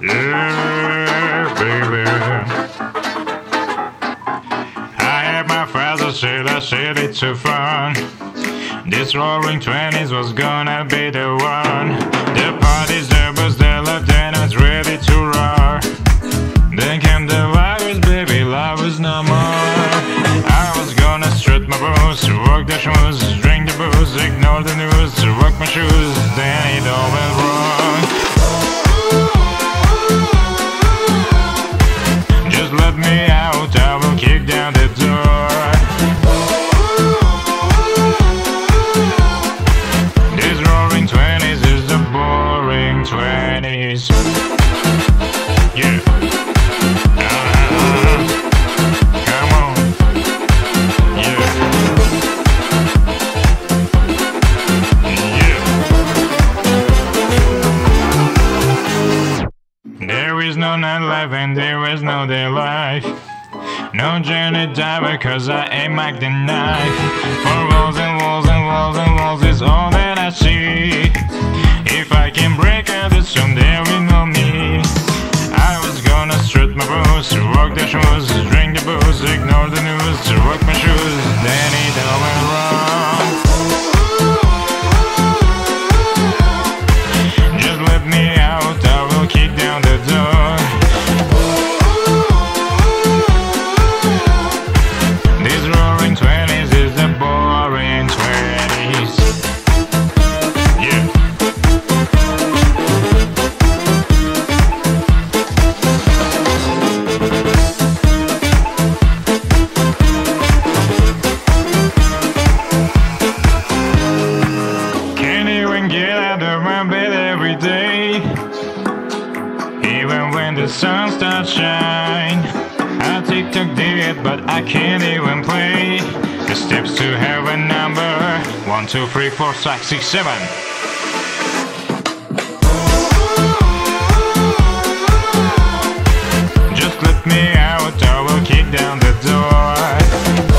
Yeah, baby. I had my father said I said it's so fun. This roaring 20s was gonna be the one. The party's there, but the lieutenant's ready to roar. Then came the virus, baby, love is no more. I was gonna strut my boots, walk the shoes, drink the booze, ignore the news, rock my shoes, then it all went wrong. Just let me out, I will kick down the door. This roaring 20s is the boring 20s. Yeah. Come on. Yeah. Yeah. There is no nightlife and there is no day life. No journey diver cause I aim like the knife. For walls and walls and walls and walls is all that I see. If I can break out the storm there will know me. I was gonna strut my boots, walk the shoes, drink the booze, ignore the news, rock my shoes, then it all went wrong. Just let me out, I will kick down the door. This roaring 20s is the boring 20s. Yeah. Can't even get out of my bed every day. Even when the sun starts shine. I TikTok did, but I can't even play. The steps to heaven number 1, 2, 3, 4, 5, 6, 7. Just let me out, I will kick down the door.